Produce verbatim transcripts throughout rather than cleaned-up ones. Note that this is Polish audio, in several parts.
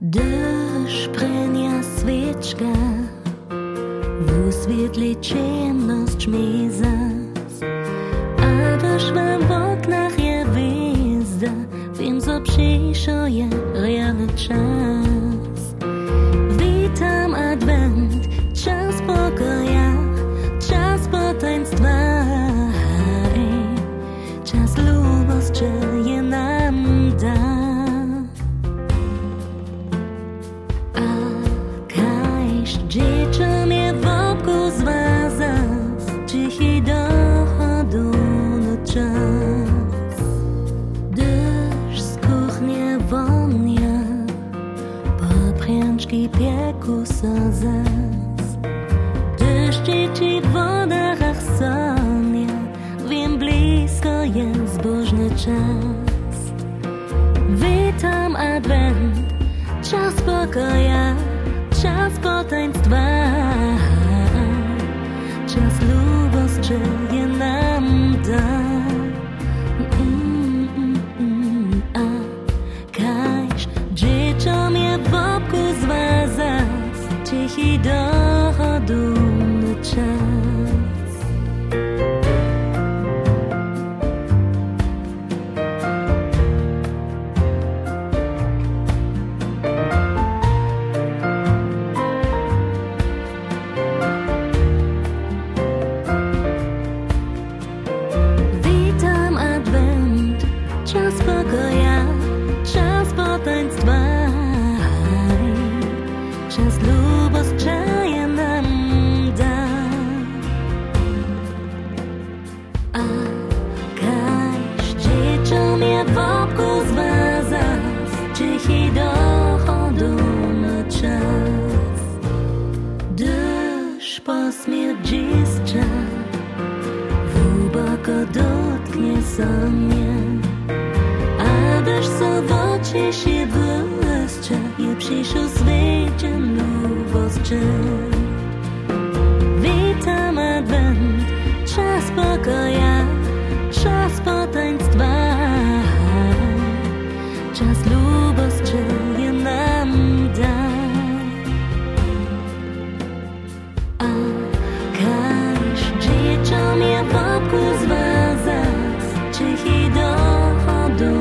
Дощ прения свечка, в светлей ciemność zmizas, a deszcz w oknach je wyzda, wiem co przyszło je realny czas. Witam adwent, czas pokoja, czas potaństwa, czas lubości je nam da. Dzieciom je w obku zwaza, cichy dochodu na czas. Deszcz z kuchni wonia, papręczki pieku sozas. Deszcz dzieci w wodach sonia, wiem blisko jest bożny czas. Witam adwent, czas pokoja, czas potaństwa, czas lubości je nam da. Mm, mm, mm, a każ dzieciom je w obku zwaza, cichy dochodny czas. Czas pokoja, czas potaństwa, czas lubości je nam da. A każ dzieciom je w obku zwaza, cichy dochodu na czas. Deszcz po śmierdziszcza głęboko dotknie sobie. Deszcz co w oczy się błyszczy, je przyszł świecie lubości. Witam adwent, czas pokoja, czas potaństwa, czas lubości je nam da. A każ dzieciom je w obku zwaza, cichy dochodu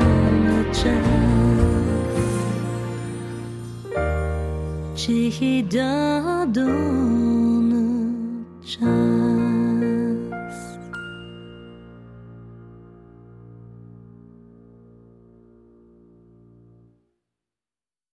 cichy dochodny czas.